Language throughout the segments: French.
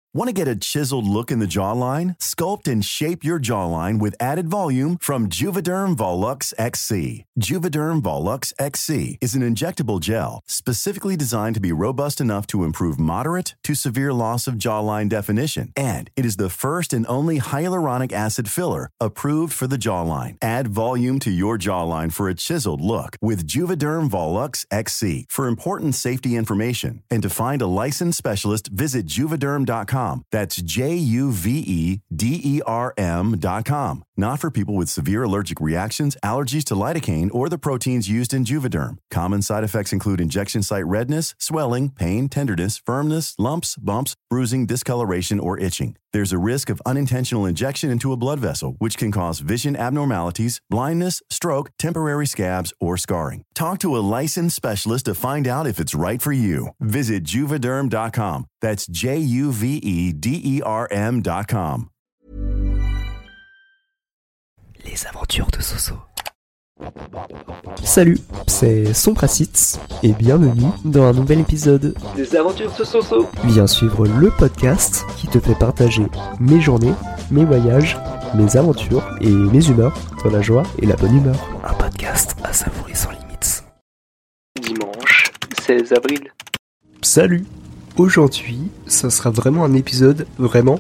Want to get a chiseled look in the jawline? Sculpt and shape your jawline with added volume from Juvederm Volux XC. Juvederm Volux XC is an injectable gel specifically designed to be robust enough to improve moderate to severe loss of jawline definition. And it is the first and only hyaluronic acid filler approved for the jawline. Add volume to your jawline for a chiseled look with Juvederm Volux XC. For important safety information and to find a licensed specialist, visit Juvederm.com. That's Juvederm.com. Not for people with severe allergic reactions, allergies to lidocaine, or the proteins used in Juvederm. Common side effects include injection site redness, swelling, pain, tenderness, firmness, lumps, bumps, bruising, discoloration, or itching. There's a risk of unintentional injection into a blood vessel, which can cause vision abnormalities, blindness, stroke, temporary scabs, or scarring. Talk to a licensed specialist to find out if it's right for you. Visit Juvederm.com. That's Juvederm.com. Les aventures de Soso. Salut, c'est Sompracitz et bienvenue dans un nouvel épisode des aventures de Soso. Viens suivre le podcast qui te fait partager mes journées, mes voyages, mes aventures et mes humeurs dans la joie et la bonne humeur. Un podcast à savourer sans limites. Dimanche 16 avril. Salut. Aujourd'hui, ça sera vraiment un épisode vraiment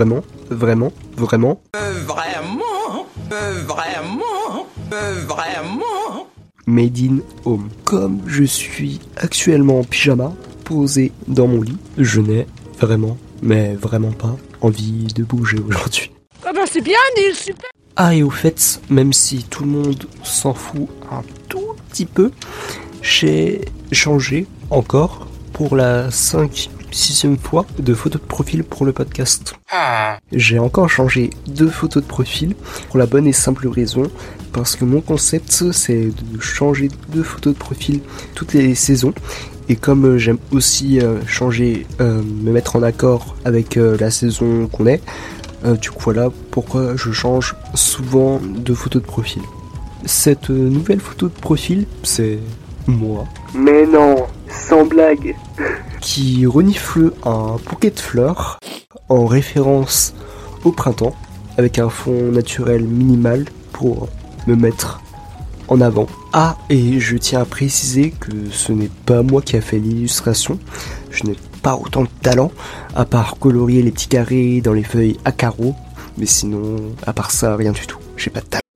made in home. Comme je suis actuellement en pyjama, posé dans mon lit, je n'ai vraiment pas envie de bouger aujourd'hui. Ah bah c'est bien, Neil, super. Ah, et au fait, même si tout le monde s'en fout un tout petit peu, j'ai changé encore pour la 6e fois de photo de profil pour le podcast. J'ai encore changé 2 photos de profil pour la bonne et simple raison parce que mon concept c'est de changer 2 photos de profil toutes les saisons, et comme j'aime aussi changer, me mettre en accord avec la saison qu'on est, du coup voilà pourquoi je change souvent de photos de profil. Cette nouvelle photo de profil, c'est moi. Mais non, sans blague. Qui renifle un bouquet de fleurs en référence au printemps, avec un fond naturel minimal pour me mettre en avant. Ah, et je tiens à préciser que ce n'est pas moi qui a fait l'illustration. Je n'ai pas autant de talent, à part colorier les petits carrés dans les feuilles à carreaux. Mais sinon, à part ça, rien du tout. J'ai pas de talent.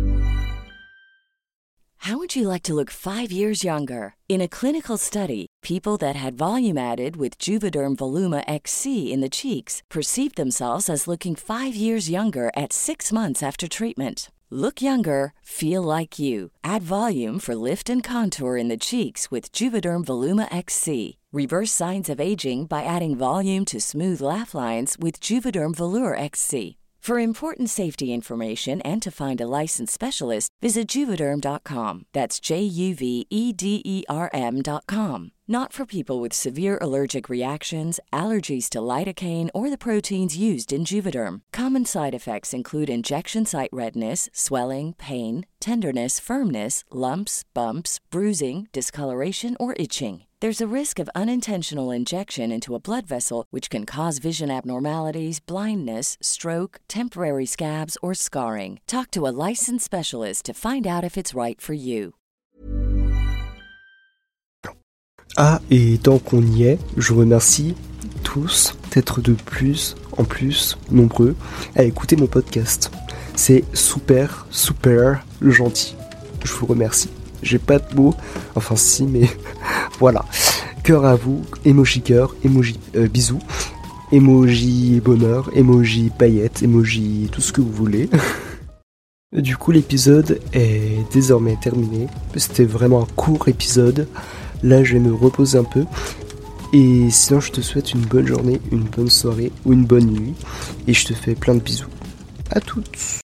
How would you like to look 5 years younger? In a clinical study, people that had volume added with Juvederm Voluma XC in the cheeks perceived themselves as looking 5 years younger at 6 months after treatment. Look younger, feel like you. Add volume for lift and contour in the cheeks with Juvederm Voluma XC. Reverse signs of aging by adding volume to smooth laugh lines with Juvederm Volure XC. For important safety information and to find a licensed specialist, visit Juvederm.com. That's Juvederm.com. Not for people with severe allergic reactions, allergies to lidocaine, or the proteins used in Juvederm. Common side effects include injection site redness, swelling, pain, tenderness, firmness, lumps, bumps, bruising, discoloration, or itching. There's a risk of unintentional injection into a blood vessel, which can cause vision abnormalities, blindness, stroke, temporary scabs, or scarring. Talk to a licensed specialist to find out if it's right for you. Ah, et tant qu'on y est, je remercie tous d'être de plus en plus nombreux à écouter mon podcast. C'est super gentil. Je vous remercie. J'ai pas de mots, enfin si, mais voilà. Cœur à vous, emoji cœur, emoji bisous, emoji bonheur, emoji paillettes, emoji tout ce que vous voulez. Du coup, l'épisode est désormais terminé. C'était vraiment un court épisode. Là, je vais me reposer un peu. Et sinon, je te souhaite une bonne journée, une bonne soirée ou une bonne nuit. Et je te fais plein de bisous. À toutes.